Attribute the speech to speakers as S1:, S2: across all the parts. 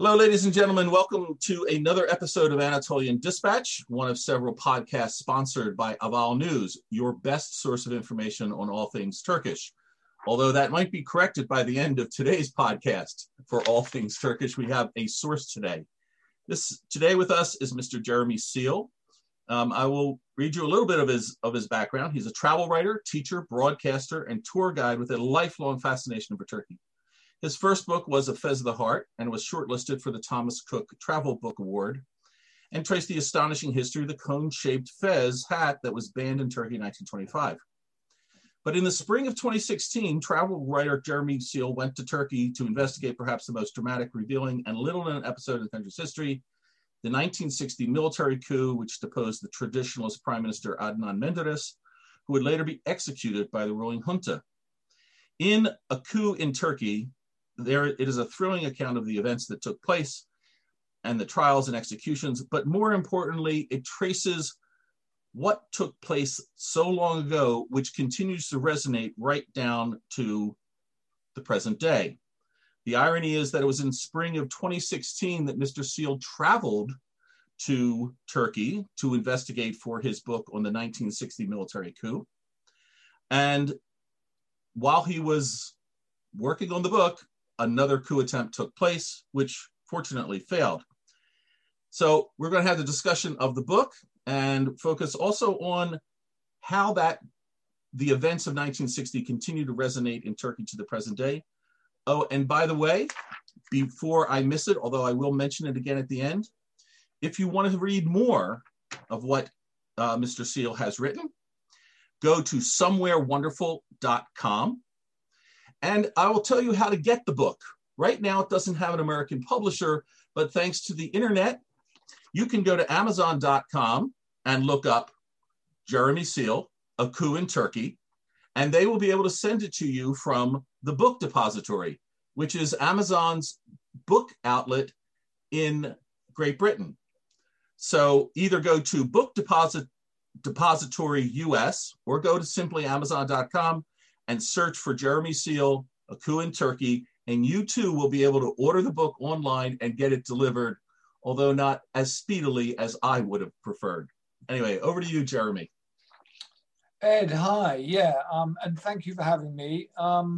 S1: Hello, ladies and gentlemen. Welcome to another episode of Anatolian Dispatch, one of several podcasts sponsored by Aval News, your best source of information on all things Turkish. Although that might be corrected by the end of today's podcast. For all things Turkish, we have a source today. Today with us is Mr. Jeremy Seal. I will read you a little bit of his background. He's a travel writer, teacher, broadcaster, and tour guide with a lifelong fascination for Turkey. His first book was A Fez of the Heart and was shortlisted for the Thomas Cook Travel Book Award and traced the astonishing history of the cone-shaped fez hat that was banned in Turkey in 1925. But in the spring of 2016, travel writer Jeremy Seal went to Turkey to investigate perhaps the most dramatic, revealing, and little-known episode in the country's history, the 1960 military coup which deposed the traditionalist Prime Minister Adnan Menderes, who would later be executed by the ruling junta. In A Coup in Turkey, it is a thrilling account of the events that took place and the trials and executions, but more importantly, it traces what took place so long ago, which continues to resonate right down to the present day. The irony is that it was in spring of 2016 that Mr. Seal traveled to Turkey to investigate for his book on the 1960 military coup. And while he was working on the book, another coup attempt took place, which fortunately failed. So we're going to have the discussion of the book and focus also on how the events of 1960 continue to resonate in Turkey to the present day. Oh, and by the way, before I miss it, although I will mention it again at the end, if you want to read more of what Mr. Seal has written, go to somewherewonderful.com. And I will tell you how to get the book. Right now, it doesn't have an American publisher, but thanks to the internet, you can go to Amazon.com and look up Jeremy Seal, A Coup in Turkey, and they will be able to send it to you from the Book Depository, which is Amazon's book outlet in Great Britain. So either go to Book Depository US or go to simply Amazon.com and search for Jeremy Seal, A Coup in Turkey, and you too will be able to order the book online and get it delivered, although not as speedily as I would have preferred. Anyway, over to you, Jeremy.
S2: Ed, hi. And thank you for having me.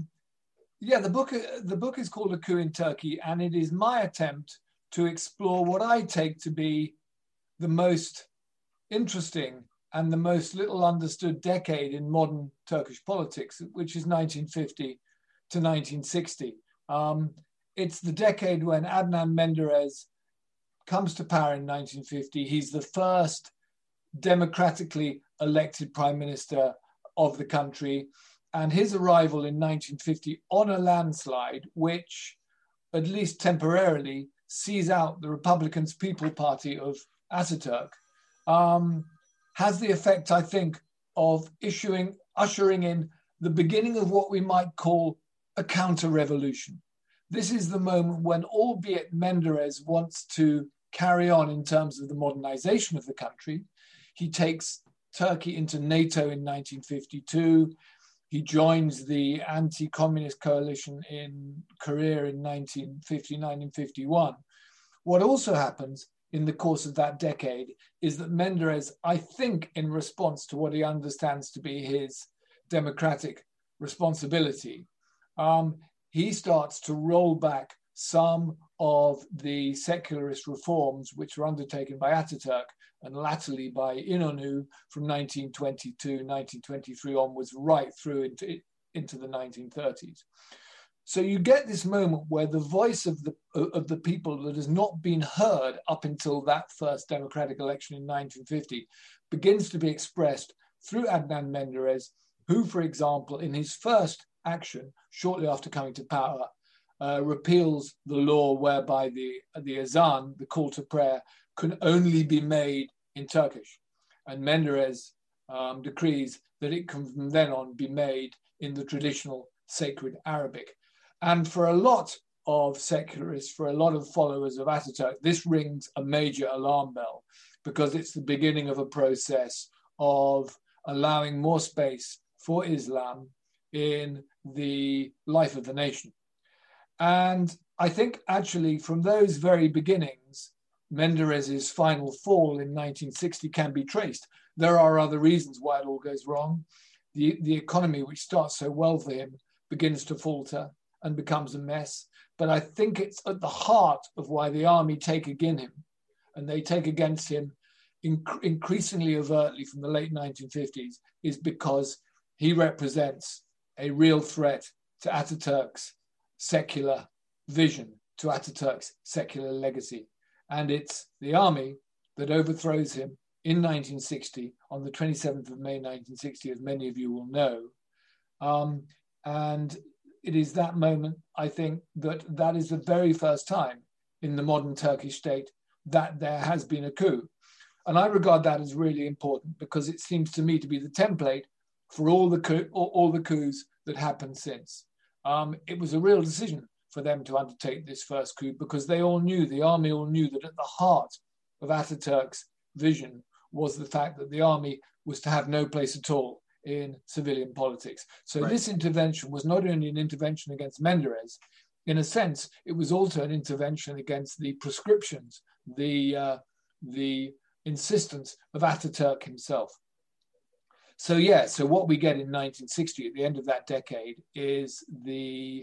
S2: The book is called A Coup in Turkey, and it is my attempt to explore what I take to be the most interesting and the most little understood decade in modern Turkish politics, which is 1950 to 1960. It's the decade when Adnan Menderes comes to power in 1950. He's the first democratically elected prime minister of the country, and his arrival in 1950 on a landslide, which at least temporarily sees out the Republicans' People Party of Ataturk, has the effect, I think, of ushering in the beginning of what we might call a counter-revolution. This is the moment when, albeit Menderes wants to carry on in terms of the modernization of the country, he takes Turkey into NATO in 1952. He joins the anti-communist coalition in Korea in 1959 and 51. What also happens in the course of that decade is that Menderes, I think in response to what he understands to be his democratic responsibility, he starts to roll back some of the secularist reforms which were undertaken by Ataturk and latterly by İnönü from 1922, 1923 onwards, right through into the 1930s. So you get this moment where the voice of the people that has not been heard up until that first democratic election in 1950 begins to be expressed through Adnan Menderes, who, for example, in his first action, shortly after coming to power, repeals the law whereby the azan, the call to prayer, can only be made in Turkish. And Menderes decrees that it can from then on be made in the traditional sacred Arabic. And for a lot of secularists, for a lot of followers of Ataturk, this rings a major alarm bell because it's the beginning of a process of allowing more space for Islam in the life of the nation. And I think actually from those very beginnings, Menderes's final fall in 1960 can be traced. There are other reasons why it all goes wrong. The economy, which starts so well for him, begins to falter and becomes a mess. But I think it's at the heart of why the army take against him, and they take against him increasingly overtly from the late 1950s, is because he represents a real threat to Ataturk's secular vision, to Ataturk's secular legacy. And it's the army that overthrows him in 1960, on the 27th of May 1960, as many of you will know. And it is that moment, I think, that is the very first time in the modern Turkish state that there has been a coup. And I regard that as really important, because it seems to me to be the template for all the coups that happened since. It was a real decision for them to undertake this first coup, because they all knew, the army all knew, that at the heart of Ataturk's vision was the fact that the army was to have no place at all in civilian politics. So right. This intervention was not only an intervention against Menderes, in a sense, it was also an intervention against the prescriptions, the insistence of Ataturk himself. So what we get in 1960, at the end of that decade, is the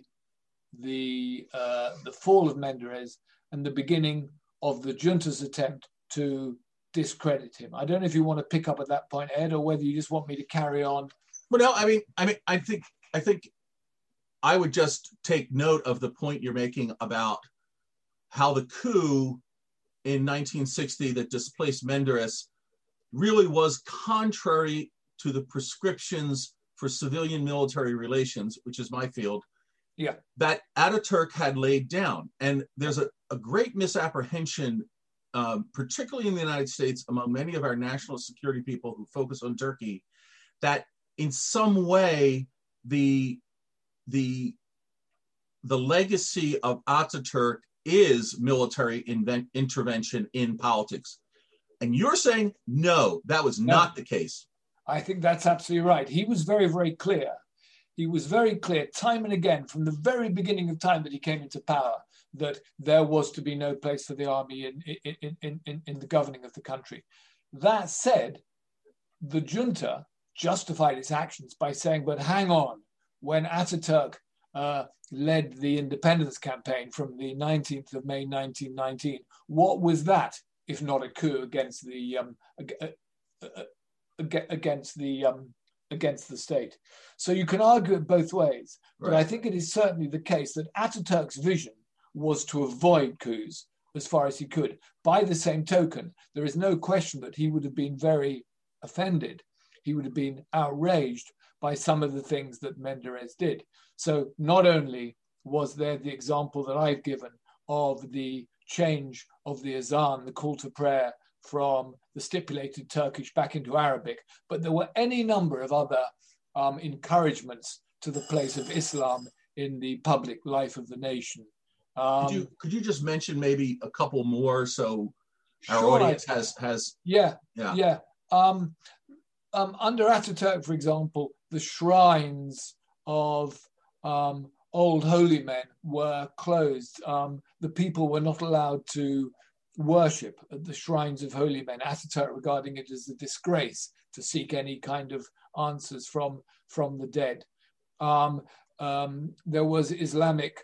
S2: fall of Menderes and the beginning of the junta's attempt to discredit him. I don't know if you want to pick up at that point, Ed, or whether you just want me to carry on.
S1: Well, no, I think I would just take note of the point you're making about how the coup in 1960 that displaced Menderes really was contrary to the prescriptions for civilian military relations, which is my field, that Ataturk had laid down. And there's a great misapprehension, particularly in the United States, among many of our national security people who focus on Turkey, that in some way the legacy of Ataturk is military intervention in politics. And you're saying, no, that was not the case.
S2: I think that's absolutely right. He was very, very clear. He was very clear time and again from the very beginning of time that he came into power that there was to be no place for the army in the governing of the country. That said, the junta justified its actions by saying, but hang on, when Ataturk led the independence campaign from the 19th of May 1919, what was that if not a coup against the state? So you can argue it both ways, but I think it is certainly the case that Ataturk's vision was to avoid coups as far as he could. By the same token, there is no question that he would have been very offended. He would have been outraged by some of the things that Menderes did. So not only was there the example that I've given of the change of the azan, the call to prayer, from the stipulated Turkish back into Arabic, but there were any number of other encouragements to the place of Islam in the public life of the nation.
S1: Could you just mention maybe a couple more so our audience has?
S2: Under Ataturk, for example, the shrines of old holy men were closed. The people were not allowed to worship at the shrines of holy men. Ataturk regarding it as a disgrace to seek any kind of answers from the dead. There was Islamic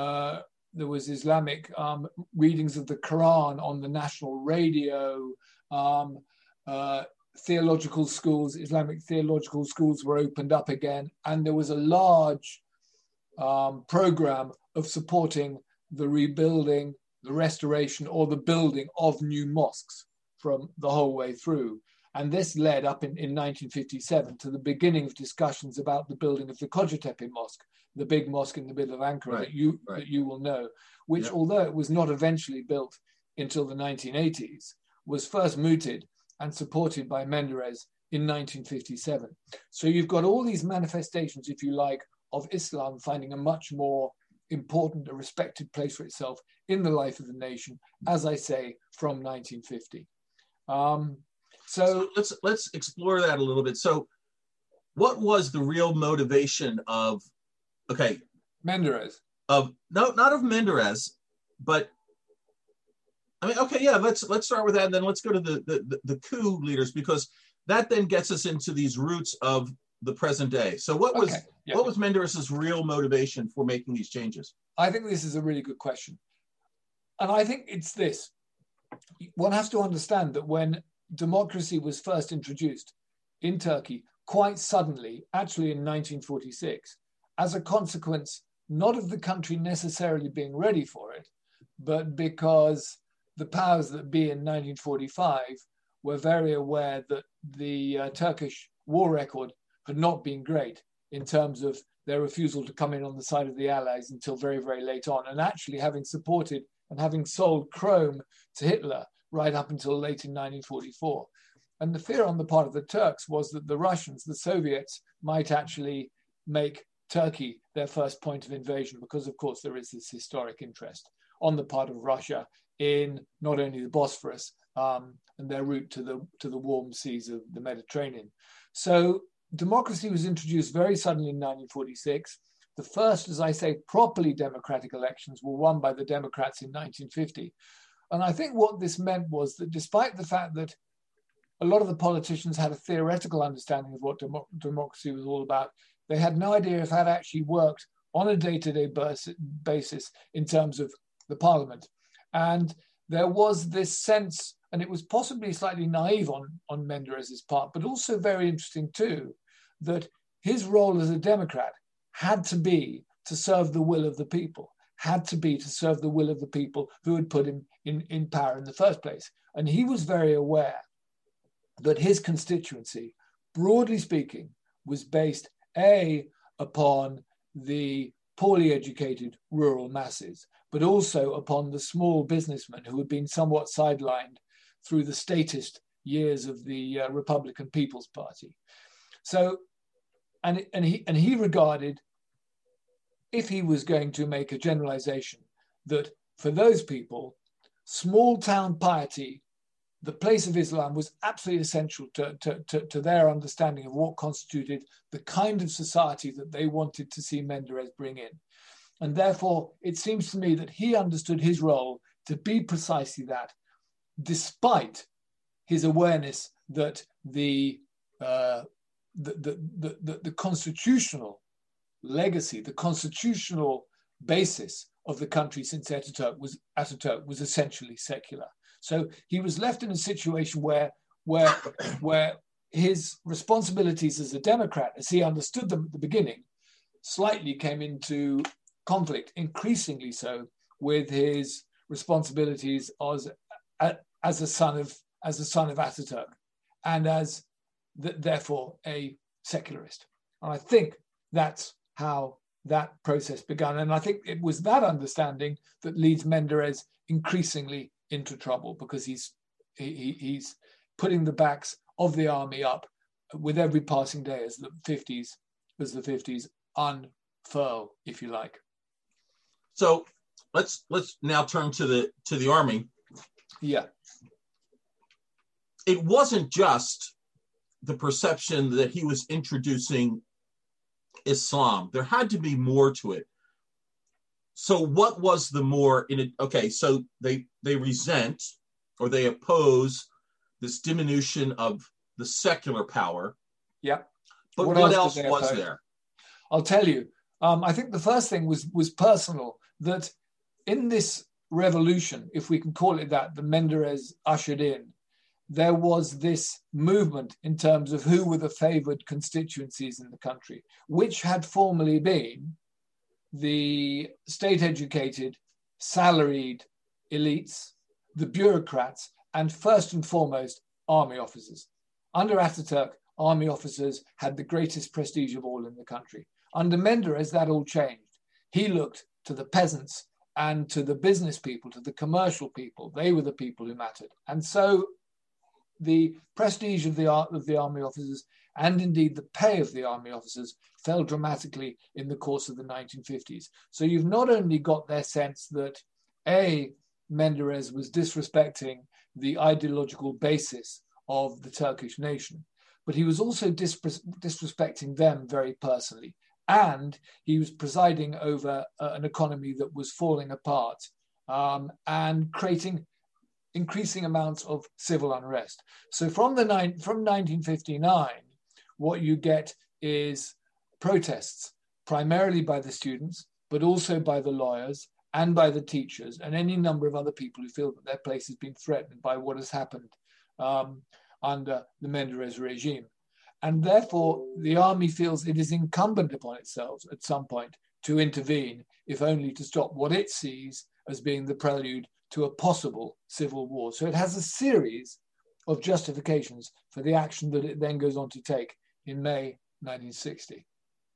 S2: readings of the Quran on the national radio. Theological schools, Islamic theological schools were opened up again, and there was a large program of supporting the rebuilding, the restoration, or the building of new mosques from the whole way through. And this led up in 1957 to the beginning of discussions about the building of the Kocatepe Mosque, the big mosque in the middle of Ankara that you will know, which, although it was not eventually built until the 1980s, was first mooted and supported by Menderes in 1957. So you've got all these manifestations, if you like, of Islam finding a much more important, a respected place for itself in the life of the nation, as I say, from 1950. So
S1: let's explore that a little bit. So what was the real motivation of,
S2: Menderes?
S1: not of Menderes, but I mean, okay, yeah, let's start with that, and then let's go to the coup leaders, because that then gets us into these roots of the present day. So what was Menderes's real motivation for making these changes?
S2: I think this is a really good question. And I think it's this. One has to understand that when democracy was first introduced in Turkey, quite suddenly, actually in 1946, as a consequence, not of the country necessarily being ready for it, but because the powers that be in 1945 were very aware that the Turkish war record had not been great in terms of their refusal to come in on the side of the Allies until very, very late on, and actually having supported and having sold chrome to Hitler right up until late in 1944. And the fear on the part of the Turks was that the Russians, the Soviets, might actually make Turkey their first point of invasion, because, of course, there is this historic interest on the part of Russia in not only the Bosphorus and their route to the warm seas of the Mediterranean. So democracy was introduced very suddenly in 1946. The first, as I say, properly democratic elections were won by the Democrats in 1950. And I think what this meant was that despite the fact that a lot of the politicians had a theoretical understanding of what democracy was all about, they had no idea if that actually worked on a day-to-day basis in terms of the parliament. And there was this sense, and it was possibly slightly naive on Menderes's part, but also very interesting too, that his role as a Democrat had to be to serve the will of the people, had to be to serve the will of the people who had put him in power in the first place. And he was very aware that his constituency, broadly speaking, was based, A, upon the poorly educated rural masses, but also upon the small businessmen who had been somewhat sidelined through the statist years of the Republican People's Party. So, and he regarded, if he was going to make a generalization, that for those people, small town piety, the place of Islam, was absolutely essential to their understanding of what constituted the kind of society that they wanted to see Menderes bring in. And therefore, it seems to me that he understood his role to be precisely that, despite his awareness that the constitutional legacy, the constitutional basis of the country since Ataturk was essentially secular. So he was left in a situation where his responsibilities as a Democrat, as he understood them at the beginning, slightly came into conflict, increasingly so, with his responsibilities as a son of Ataturk, and as therefore a secularist. And I think that's how that process began. And I think it was that understanding that leads Menderes increasingly into trouble, because he's putting the backs of the army up with every passing day as the 50s unfurl, if you like.
S1: So let's now turn to the army.
S2: Yeah.
S1: It wasn't just the perception that he was introducing Islam. There had to be more to it. So what was the more in it? Okay, so they resent or they oppose this diminution of the secular power.
S2: Yeah.
S1: But what else was there?
S2: I'll tell you. I think the first thing was personal, that in this revolution, if we can call it that Menderes ushered in, there was this movement in terms of who were the favored constituencies in the country, which had formerly been the state-educated, salaried elites, the bureaucrats, and first and foremost, army officers. Under Ataturk, army officers had the greatest prestige of all in the country. Under Menderes, that all changed. He looked to the peasants and to the business people, to the commercial people. They were the people who mattered. And so the prestige of the army officers, and indeed the pay of the army officers, fell dramatically in the course of the 1950s. So you've not only got their sense that, A, Menderes was disrespecting the ideological basis of the Turkish nation, but he was also disrespecting them very personally. and he was presiding over an economy that was falling apart and creating increasing amounts of civil unrest. So from 1959, what you get is protests, primarily by the students, but also by the lawyers and by the teachers and any number of other people who feel that their place has been threatened by what has happened under the Menderes regime. And therefore, the army feels it is incumbent upon itself at some point to intervene, if only to stop what it sees as being the prelude to a possible civil war. So it has a series of justifications for the action that it then goes on to take in May 1960.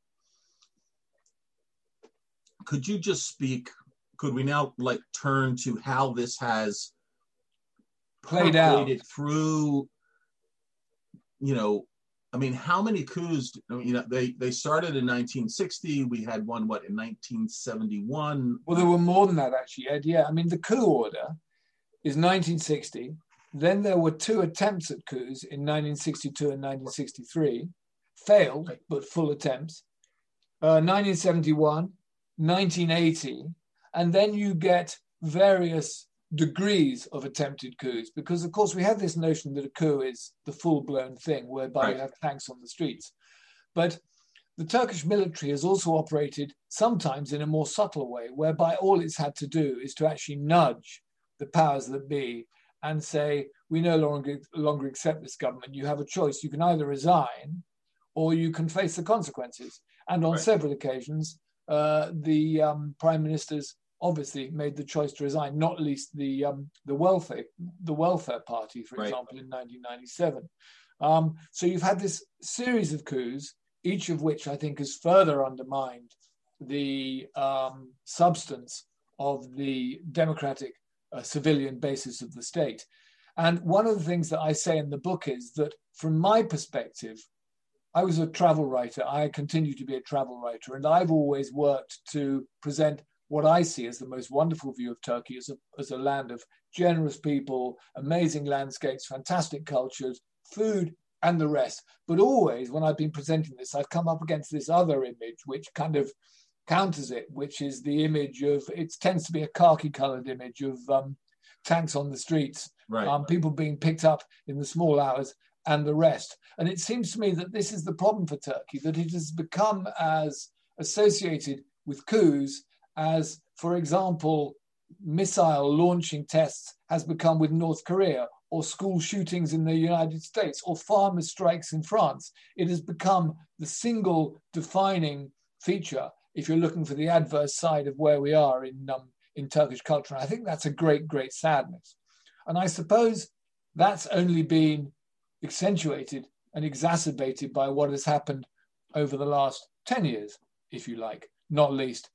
S1: Could you just speak, could we now turn to how this has
S2: played out
S1: through, how many coups, they started in 1960, we had one, in 1971?
S2: Well, there were more than that, actually, Ed. Yeah, the coup order is 1960. Then there were 2 attempts at coups in 1962 and 1963, failed, but full attempts. 1971, 1980, and then you get various degrees of attempted coups, because of course we have this notion that a coup is the full-blown thing whereby you have tanks on the streets. But the Turkish military has also operated sometimes in a more subtle way, whereby all it's had to do is to actually nudge the powers that be and say, we no longer accept this government. You have a choice. You can either resign or you can face the consequences. And on several occasions, the prime ministers obviously made the choice to resign, not least the Welfare Party, for example, in 1997. So you've had this series of coups, each of which I think has further undermined the substance of the democratic civilian basis of the state. And one of the things that I say in the book is that from my perspective, I was a travel writer. I continue to be a travel writer, and I've always worked to present what I see as the most wonderful view of Turkey as a land of generous people, amazing landscapes, fantastic cultures, food, and the rest. But always, when I've been presenting this, I've come up against this other image, which kind of counters it, which is the image of, it tends to be a khaki-colored image of tanks on the streets, people being picked up in the small hours, and the rest. And it seems to me that this is the problem for Turkey, that it has become as associated with coups as, for example, missile launching tests has become with North Korea, or school shootings in the United States, or farmer strikes in France. It has become the single defining feature if you're looking for the adverse side of where we are in Turkish culture. And I think that's a great, great sadness. And I suppose that's only been accentuated and exacerbated by what has happened over the last 10 years, if you like, not least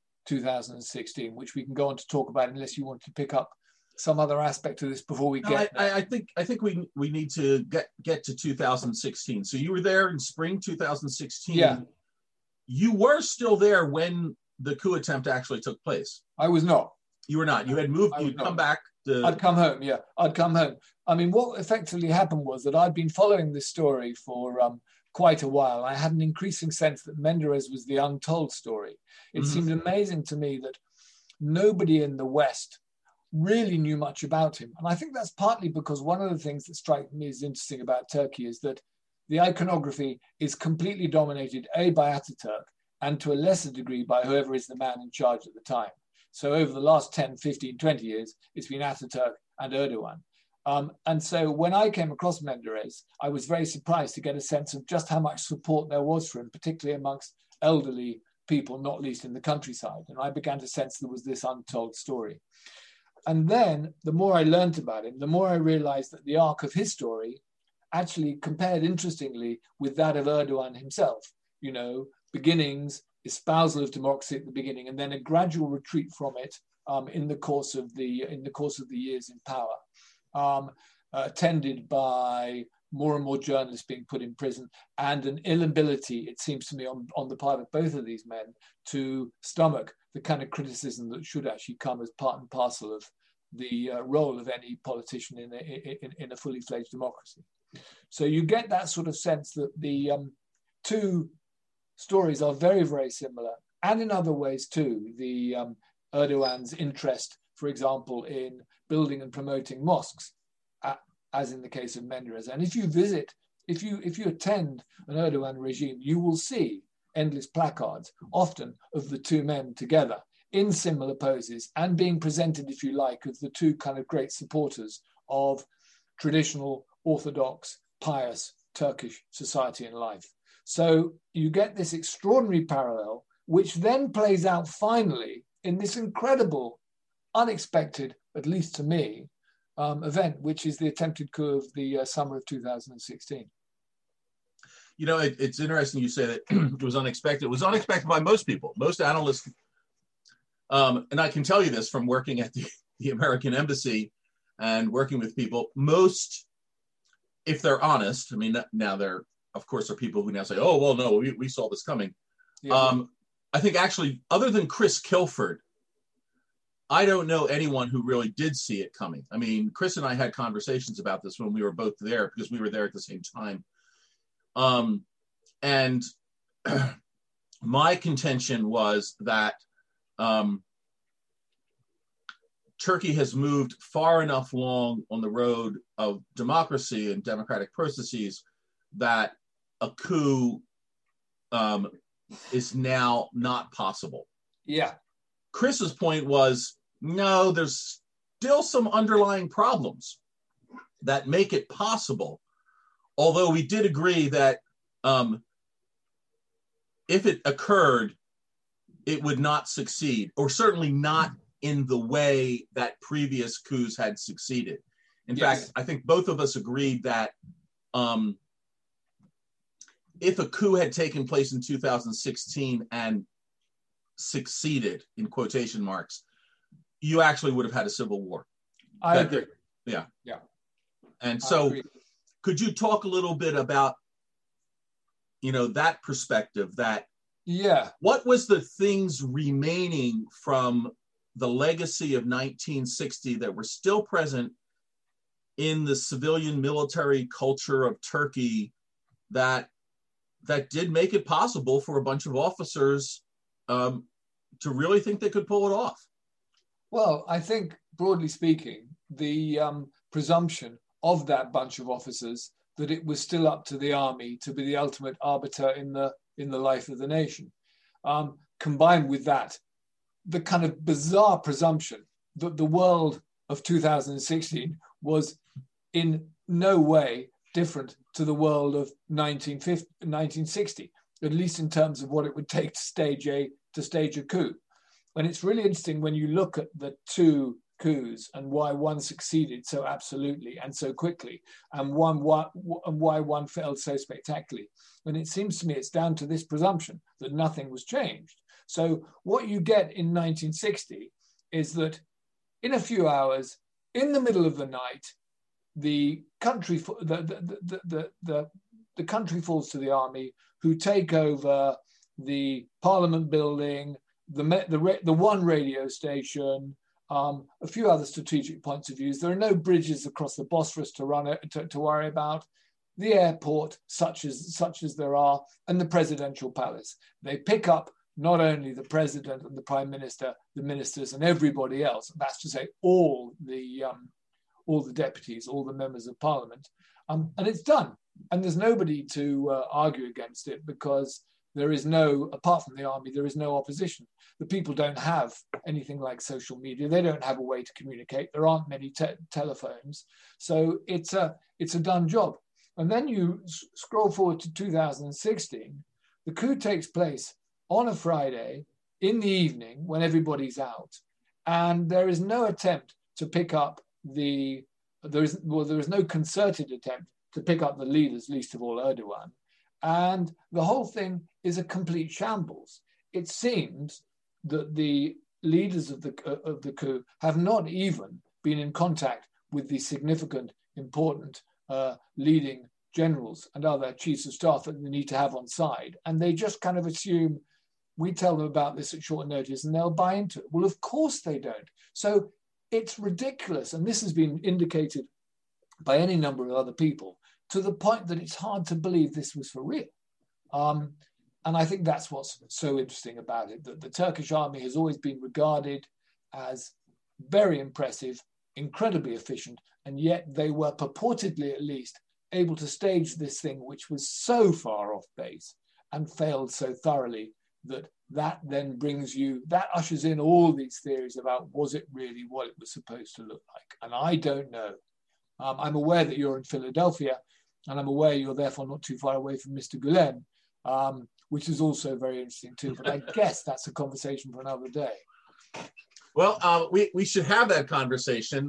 S2: 2016, which we can go on to talk about unless you want to pick up some other aspect of this before we get
S1: there. I think we need to get to 2016. So you were there in spring 2016.
S2: Yeah.
S1: You were still there when the coup attempt actually took place.
S2: I was not.
S1: You were not. You had moved. You'd come back.
S2: I'd come home. Yeah, I'd come home. I mean, what effectively happened was that I'd been following this story for quite a while. I had an increasing sense that Menderes was the untold story. It seemed amazing to me that nobody in the West really knew much about him. And I think that's partly because one of the things that strikes me as interesting about Turkey is that the iconography is completely dominated, A, by Ataturk, and to a lesser degree by whoever is the man in charge at the time. So over the last 10, 15, 20 years, it's been Ataturk and Erdogan. And so when I came across Menderes, I was very surprised to get a sense of just how much support there was for him, particularly amongst elderly people, not least in the countryside. And I began to sense there was this untold story. And then the more I learned about him, the more I realized that the arc of his story actually compared interestingly with that of Erdogan himself. You know, beginnings, espousal of democracy at the beginning, and then a gradual retreat from it in the course of the years in power, attended by more and more journalists being put in prison, and an inability, it seems to me, on the part of both of these men to stomach the kind of criticism that should actually come as part and parcel of the role of any politician in a fully fledged democracy. So you get that sort of sense that the two stories are very, very similar, and in other ways too. The Erdogan's interest, for example, in building and promoting mosques, as in the case of Menderes. And if you attend an Erdogan regime, you will see endless placards, often of the two men together in similar poses and being presented, if you like, as the two kind of great supporters of traditional, orthodox, pious Turkish society and life. So you get this extraordinary parallel, which then plays out finally in this incredible, unexpected, at least to me, event, which is the attempted coup of the summer of 2016.
S1: You know, it's interesting you say that it was unexpected. It was unexpected by most people, most analysts. And I can tell you this from working at the American Embassy and working with people. Most, if they're honest, I mean, now there, of course, are people who now say, oh, well, no, we saw this coming. Yeah. I think actually, other than Chris Kilford, I don't know anyone who really did see it coming. I mean, Chris and I had conversations about this when we were both there because we were there at the same time. And my contention was that Turkey has moved far enough along on the road of democracy and democratic processes that a coup is now not possible.
S2: Yeah.
S1: Chris's point was, no, there's still some underlying problems that make it possible. Although we did agree that if it occurred, it would not succeed, or certainly not in the way that previous coups had succeeded. In fact, I think both of us agreed that if a coup had taken place in 2016 and succeeded, in quotation marks, you actually would have had a civil war.
S2: I agree.
S1: Yeah.
S2: Yeah.
S1: And so could you talk a little bit about, that perspective, that what was the things remaining from the legacy of 1960 that were still present in the civilian military culture of Turkey that did make it possible for a bunch of officers to really think they could pull it off?
S2: Well, I think, broadly speaking, the presumption of that bunch of officers that it was still up to the army to be the ultimate arbiter in the life of the nation, combined with that, the kind of bizarre presumption that the world of 2016 was in no way different to the world of 1960, at least in terms of what it would take to stage a coup. And it's really interesting when you look at the two coups and why one succeeded so absolutely and so quickly, and why one failed so spectacularly. And it seems to me it's down to this presumption that nothing was changed. So what you get in 1960 is that in a few hours, in the middle of the night, the country falls to the army, who take over the Parliament building, the one radio station, a few other strategic points of views. There are no bridges across the Bosphorus to worry about. The airport, such as there are, and the presidential palace. They pick up not only the president and the prime minister, the ministers, and everybody else. That's to say, all the deputies, all the members of parliament, and it's done. And there's nobody to argue against it, because there is no, apart from the army, there is no opposition. The people don't have anything like social media. They don't have a way to communicate. There aren't many telephones. So it's a done job. And then you scroll forward to 2016. The coup takes place on a Friday in the evening when everybody's out. And there is no attempt to pick up there is no concerted attempt to pick up the leaders, least of all Erdogan. And the whole thing is a complete shambles. It seems that the leaders of the coup have not even been in contact with the significant, important leading generals and other chiefs of staff that they need to have on side. And they just kind of assume we tell them about this at short notice and they'll buy into it. Well, of course they don't. So it's ridiculous. And this has been indicated by any number of other people, to the point that it's hard to believe this was for real. And I think that's what's so interesting about it, that the Turkish army has always been regarded as very impressive, incredibly efficient, and yet they were purportedly, at least, able to stage this thing which was so far off base and failed so thoroughly that then that ushers in all these theories about, was it really what it was supposed to look like? And I don't know. I'm aware that you're in Philadelphia, and I'm aware you're therefore not too far away from Mr. Gulen, which is also very interesting too. But I guess that's a conversation for another day.
S1: Well, we should have that conversation.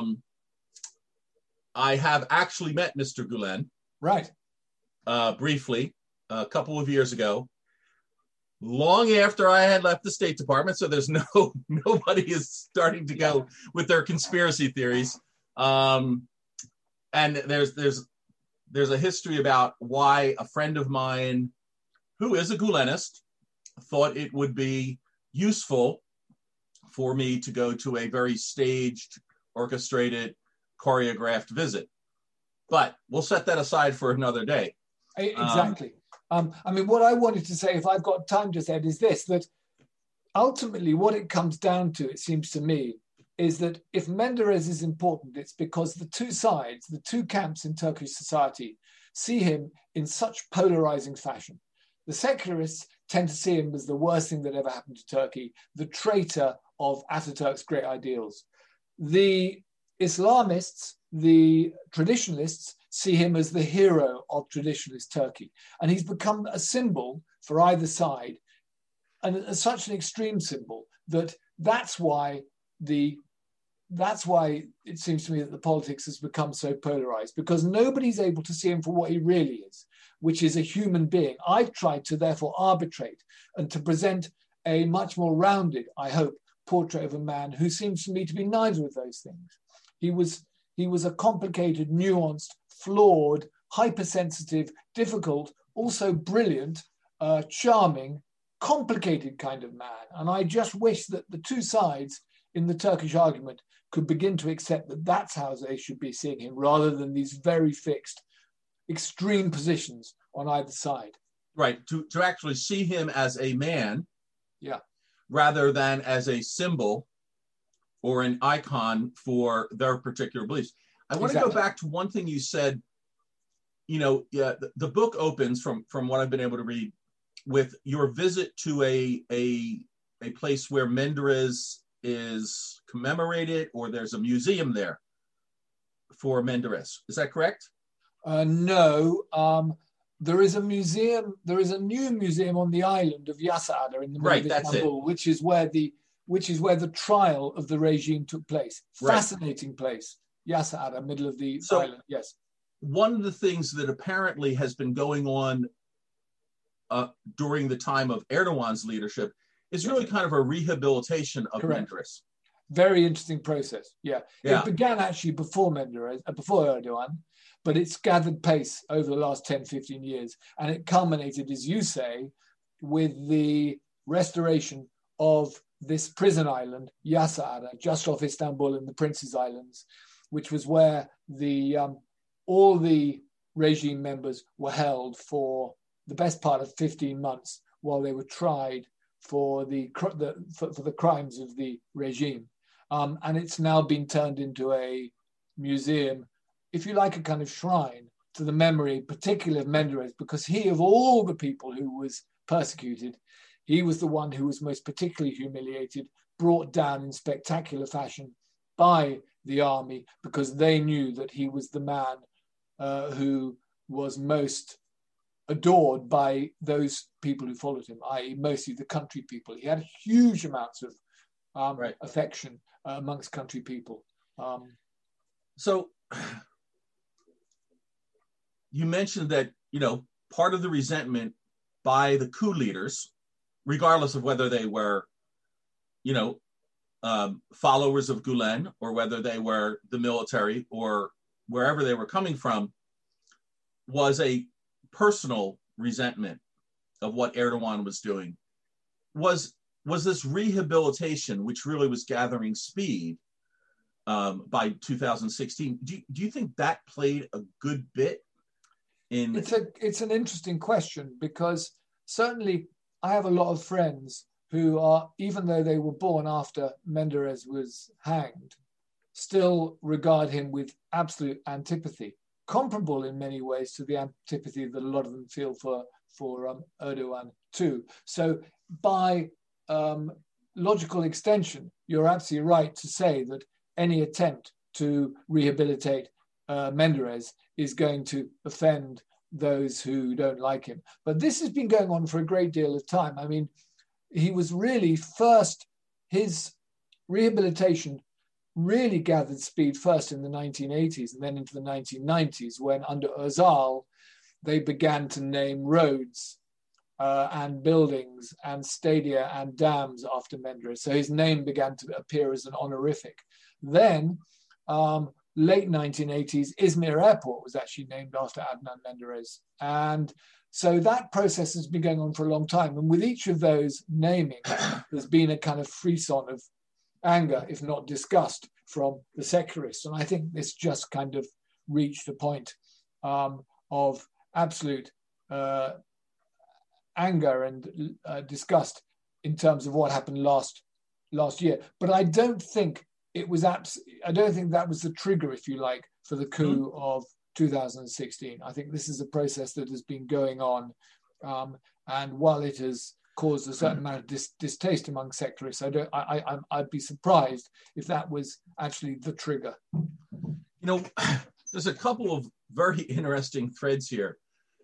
S1: I have actually met Mr. Gulen.
S2: Right.
S1: Briefly, a couple of years ago, long after I had left the State Department. So there's nobody is starting to go with their conspiracy theories. And there's a history about why a friend of mine, who is a Gulenist, thought it would be useful for me to go to a very staged, orchestrated, choreographed visit. But we'll set that aside for another day.
S2: Exactly. I mean, what I wanted to say, if I've got time to say it, is this, that ultimately what it comes down to, it seems to me, is that if Menderes is important, it's because the two sides, the two camps in Turkish society, see him in such polarizing fashion. The secularists tend to see him as the worst thing that ever happened to Turkey, the traitor of Ataturk's great ideals. The Islamists, the traditionalists, see him as the hero of traditionalist Turkey. And he's become a symbol for either side, and such an extreme symbol that's why it seems to me that the politics has become so polarized, because nobody's able to see him for what he really is, which is a human being. I've tried to therefore arbitrate and to present a much more rounded, I hope, portrait of a man who seems to me to be neither of those things. He was a complicated, nuanced, flawed, hypersensitive, difficult, also brilliant, charming, complicated kind of man. And I just wish that the two sides in the Turkish argument could begin to accept that that's how they should be seeing him, rather than these very fixed, extreme positions on either side.
S1: Right, to actually see him as a man, rather than as a symbol or an icon for their particular beliefs. I want to go back to one thing you said. The book opens, from what I've been able to read, with your visit to a place where Menderes is commemorated, or there's a museum there for Menderes. Is that correct?
S2: No. There is a museum. There is a new museum on the island of Yassıada in the middle of Istanbul, which is where the trial of the regime took place. Fascinating place. Yassıada, middle of the island. Yes.
S1: One of the things that apparently has been going on during the time of Erdogan's leadership is really kind of a rehabilitation of Menderes.
S2: Very interesting process. Yeah. It began actually before Erdogan, but it's gathered pace over the last 10, 15 years. And it culminated, as you say, with the restoration of this prison island, Yassıada, just off Istanbul in the Prince's Islands, which was where all the regime members were held for the best part of 15 months while they were tried for the crimes of the regime. And it's now been turned into a museum, if you like, a kind of shrine to the memory, particularly of Menderes, because he, of all the people who was persecuted, he was the one who was most particularly humiliated, brought down in spectacular fashion by the army, because they knew that he was the man who was most adored by those people who followed him, i.e. mostly the country people. He had huge amounts of affection amongst country people.
S1: So you mentioned that, part of the resentment by the coup leaders, regardless of whether they were, followers of Gulen, or whether they were the military or wherever they were coming from, was a personal resentment of what Erdogan was doing. Was this rehabilitation, which really was gathering speed by 2016, do you think that played a good bit in?
S2: It's an interesting question, because certainly I have a lot of friends who are, even though they were born after Menderes was hanged, still regard him with absolute antipathy, comparable in many ways to the antipathy that a lot of them feel for Erdogan too. So by logical extension, you're absolutely right to say that any attempt to rehabilitate Menderes is going to offend those who don't like him. But this has been going on for a great deal of time. I mean, he was really first, his rehabilitation really gathered speed first in the 1980s and then into the 1990s, when under Özal, they began to name roads and buildings and stadia and dams after Menderes. So his name began to appear as an honorific. Then, late 1980s, Izmir Airport was actually named after Adnan Menderes. And so that process has been going on for a long time. And with each of those namings, there's been a kind of frisson of anger, if not disgust, from the secularists. And I think this just kind of reached a point of absolute anger and disgust in terms of what happened last year. But I don't think it was I don't think that was the trigger, if you like, for the coup of 2016. I think this is a process that has been going on, and while it has caused a certain amount of distaste among secularists, I'd be surprised if that was actually the trigger.
S1: You know, there's a couple of very interesting threads here.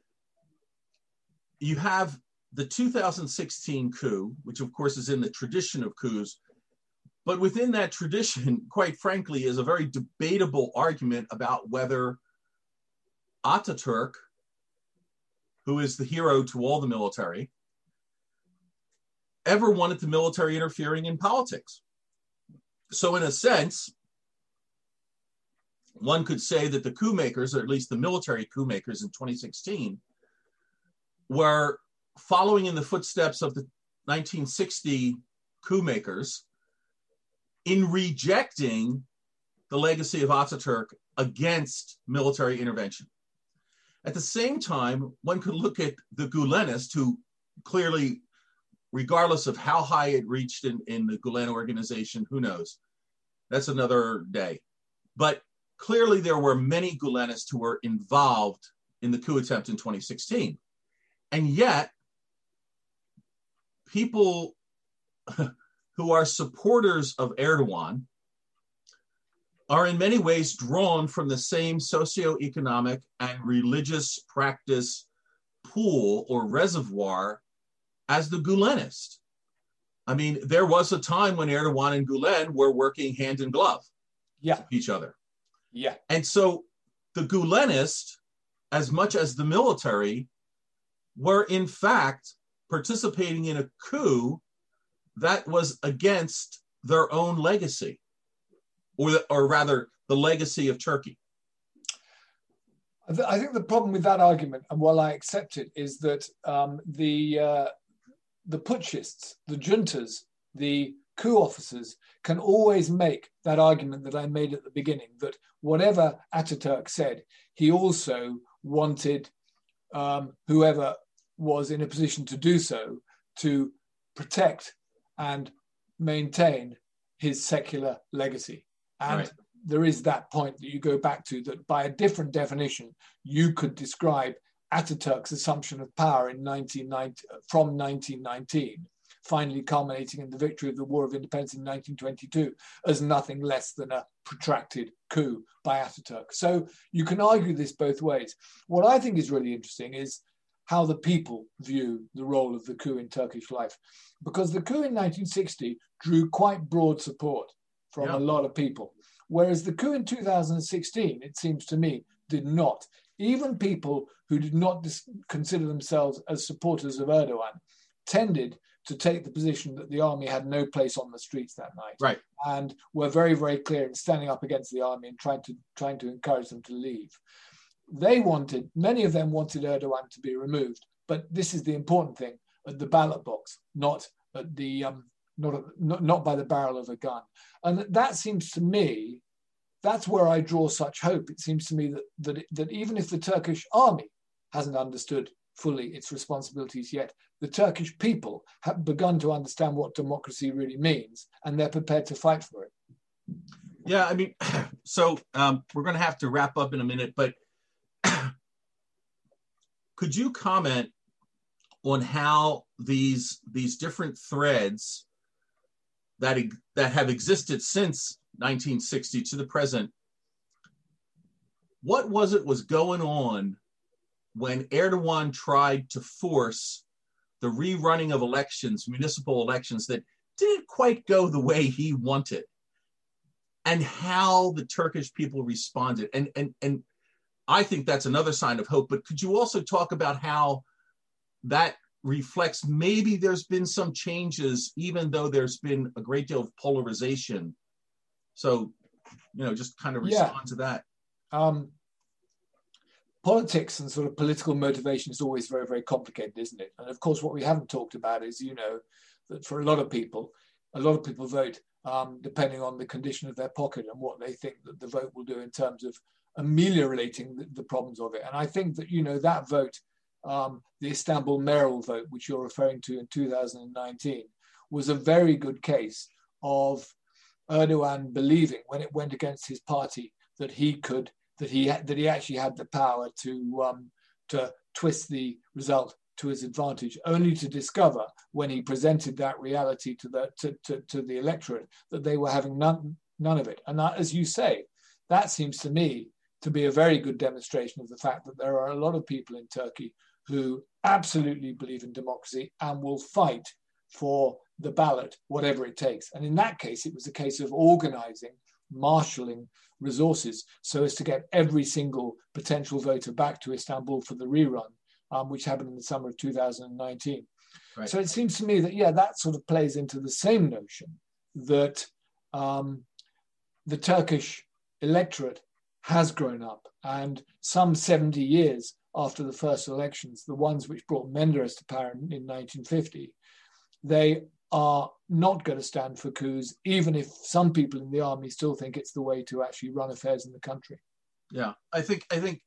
S1: You have the 2016 coup, which of course is in the tradition of coups, but within that tradition, quite frankly, is a very debatable argument about whether Ataturk, who is the hero to all the military, ever wanted the military interfering in politics. So in a sense, one could say that the coup makers, or at least the military coup makers in 2016, were following in the footsteps of the 1960 coup makers in rejecting the legacy of Ataturk against military intervention. At the same time, one could look at the Gulenists, who clearly, regardless of how high it reached in the Gulen organization, who knows? That's another day. But clearly there were many Gulenists who were involved in the coup attempt in 2016. And yet, people who are supporters of Erdogan are in many ways drawn from the same socioeconomic and religious practice pool or reservoir as the Gulenists. I mean, there was a time when Erdogan and Gulen were working hand in glove with each other.
S2: Yeah.
S1: And so the Gulenists, as much as the military, were in fact participating in a coup that was against their own legacy, or rather the legacy of Turkey.
S2: I think the problem with that argument, and while I accept it, is that the putschists, the juntas, the coup officers can always make that argument that I made at the beginning, that whatever Ataturk said, he also wanted whoever was in a position to do so to protect and maintain his secular legacy. And there is that point that you go back to, that by a different definition, you could describe Ataturk's assumption of power in 1919, finally culminating in the victory of the War of Independence in 1922, as nothing less than a protracted coup by Ataturk. So you can argue this both ways. What I think is really interesting is how the people view the role of the coup in Turkish life, because the coup in 1960 drew quite broad support from a lot of people, whereas the coup in 2016, it seems to me, did not. Even people who did not consider themselves as supporters of Erdogan tended to take the position that the army had no place on the streets that night, and were very, very clear in standing up against the army and trying to encourage them to leave. Many of them wanted Erdogan to be removed, but this is the important thing: at the ballot box, not at the not by the barrel of a gun. And that seems to me, that's where I draw such hope. It seems to me that even if the Turkish army hasn't understood fully its responsibilities yet. The Turkish people have begun to understand what democracy really means, and they're prepared to fight for it.
S1: Yeah, I mean, so we're going to have to wrap up in a minute, but could you comment on how these different threads that have existed since 1960 to the present, what was going on when Erdogan tried to force the rerunning of elections, municipal elections that didn't quite go the way he wanted, and how the Turkish people responded? And I think that's another sign of hope, but could you also talk about how that reflects maybe there's been some changes, even though there's been a great deal of polarization? So, just kind of respond to that.
S2: Politics and sort of political motivation is always very, very complicated, isn't it? And of course, what we haven't talked about is, that for a lot of people vote depending on the condition of their pocket and what they think that the vote will do in terms of ameliorating the problems of it. And I think that, that vote, the Istanbul mayoral vote, which you're referring to in 2019, was a very good case of Erdogan believing, when it went against his party, that he actually had the power to twist the result to his advantage, only to discover when he presented that reality to the electorate that they were having none of it. And that, as you say, that seems to me to be a very good demonstration of the fact that there are a lot of people in Turkey who absolutely believe in democracy and will fight for the ballot, whatever it takes. And in that case, it was a case of organizing, marshalling resources so as to get every single potential voter back to Istanbul for the rerun, which happened in the summer of 2019. Right. So it seems to me that, that sort of plays into the same notion that the Turkish electorate has grown up, and some 70 years after the first elections, the ones which brought Menderes to power in 1950, they are not going to stand for coups, even if some people in the army still think it's the way to actually run affairs in the country.
S1: Yeah, I think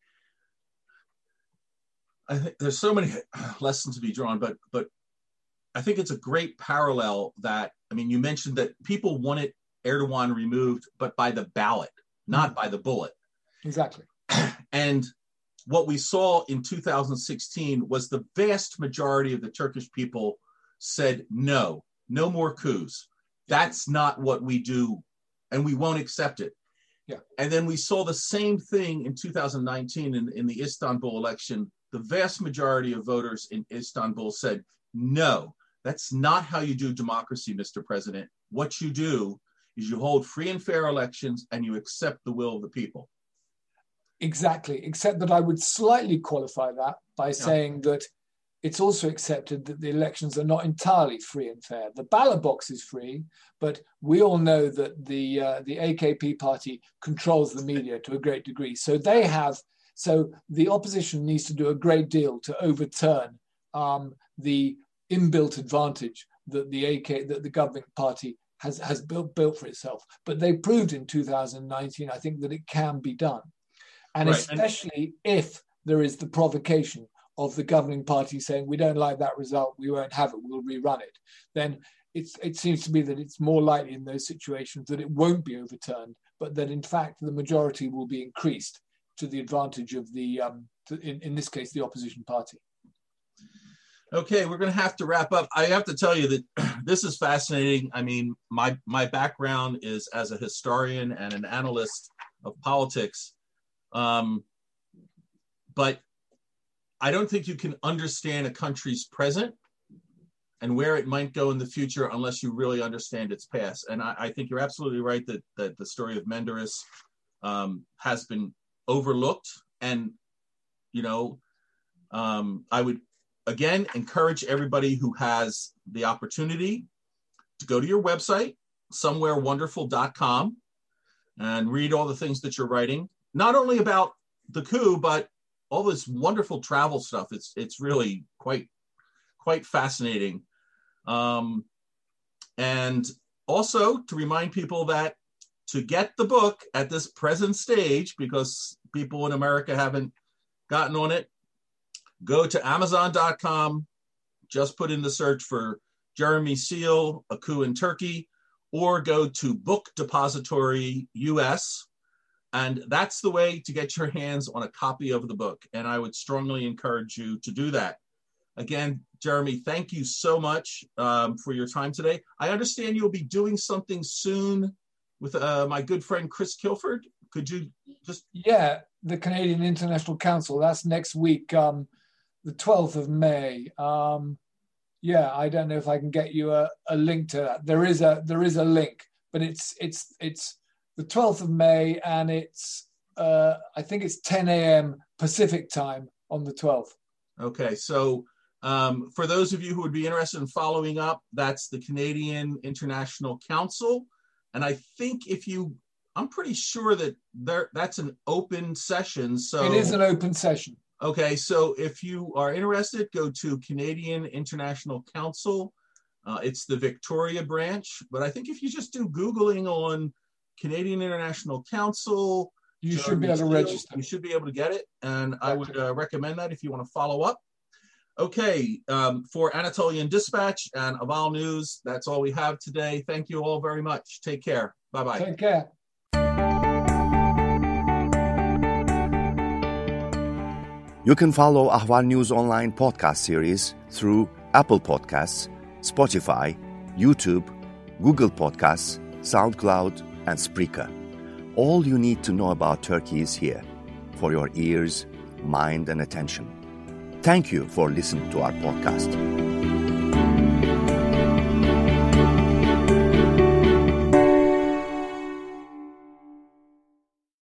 S1: there's so many lessons to be drawn, but I think it's a great parallel that, you mentioned that people wanted Erdogan removed, but by the ballot, not by the bullet.
S2: Exactly.
S1: And what we saw in 2016 was the vast majority of the Turkish people said, no more coups. That's not what we do, and we won't accept it.
S2: Yeah.
S1: And then we saw the same thing in 2019 in the Istanbul election. The vast majority of voters in Istanbul said, no, that's not how you do democracy, Mr. President. What you do is you hold free and fair elections and you accept the will of the people.
S2: Exactly, except that I would slightly qualify that by saying that it's also accepted that the elections are not entirely free and fair. The ballot box is free, but we all know that the AKP party controls the media to a great degree. So the opposition needs to do a great deal to overturn the inbuilt advantage that the governing party has built for itself. But they proved in 2019, I think, that it can be done. And right. Especially if there is the provocation of the governing party saying, we don't like that result, we won't have it, we'll rerun it, then it seems to me that it's more likely in those situations that it won't be overturned, but that in fact the majority will be increased to the advantage of in this case, the opposition party.
S1: Okay, we're going to have to wrap up. I have to tell you that this is fascinating. My background is as a historian and an analyst of politics. But I don't think you can understand a country's present and where it might go in the future unless you really understand its past. And I think you're absolutely right that the story of Menderes has been overlooked. And, I would, again, encourage everybody who has the opportunity to go to your website, somewherewonderful.com, and read all the things that you're writing. Not only about the coup, but all this wonderful travel stuff. It's really quite fascinating. And also to remind people that to get the book at this present stage, because people in America haven't gotten on it, go to Amazon.com, just put in the search for Jeremy Seal, A Coup in Turkey, or go to Book Depository US. And that's the way to get your hands on a copy of the book. And I would strongly encourage you to do that. Again, Jeremy, thank you so much for your time today. I understand you'll be doing something soon with my good friend Chris Kilford. Could you just...
S2: Yeah, the Canadian International Council. That's next week, the 12th of May. Yeah, I don't know if I can get you a link to that. There is a link, but it's the 12th of May, and it's I think it's 10 a.m. Pacific time on the 12th.
S1: Okay, so for those of you who would be interested in following up, that's the Canadian International Council, and I think I'm pretty sure that that's an open session. So
S2: it is an open session.
S1: Okay, so if you are interested, go to Canadian International Council. It's the Victoria branch, but I think if you just do Googling on Canadian International Council,
S2: you should be able to register.
S1: You should be able to get it, and I would recommend that if you want to follow up. Okay, for Anatolian Dispatch and Aval News, that's all we have today. Thank you all very much. Take care. Bye-bye.
S2: Take care.
S3: You can follow Ahval News Online podcast series through Apple Podcasts, Spotify, YouTube, Google Podcasts, SoundCloud, and Spreaker. All you need to know about Turkey is here, for your ears, mind, and attention. Thank you for listening to our podcast.